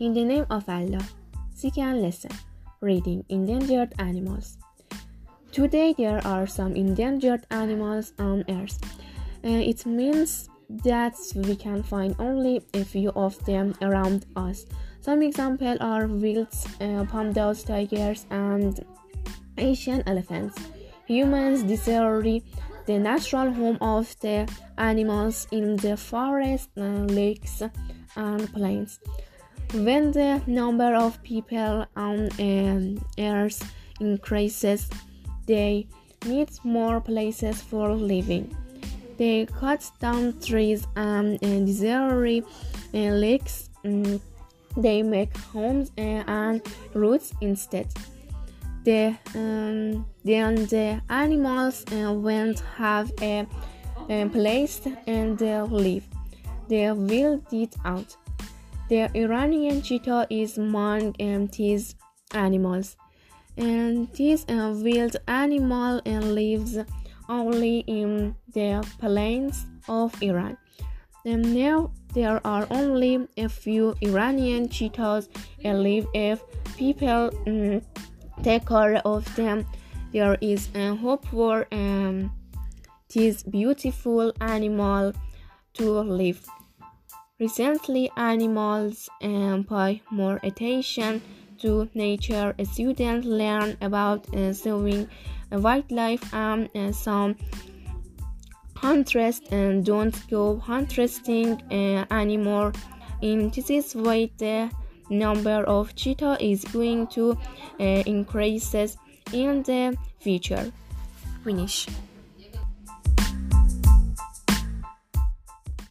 In the name of Allah, seek and listen. Reading Endangered Animals. Today there are some endangered animals on Earth. It means that we can find only a few of them around us. Some examples are wolves, pandas, tigers, and Asian elephants. Humans destroy the natural home of the animals in the forests, lakes, and plains. When the number of people on Earth increases, they need more places for living. They cut down trees and destroy lakes. They make homes and roads instead. Then the animals won't have a place to live. They will die out. The Iranian cheetah is among these animals, and this wild animal lives only in the plains of Iran. And now there are only a few Iranian cheetahs alive. If people take care of them, there is a hope for this beautiful animal to live. Recently, animals pay more attention to nature. Students learn about saving wildlife, and some hunters don't go hunting anymore. In this way, the number of cheetah is going to increase in the future. Finish.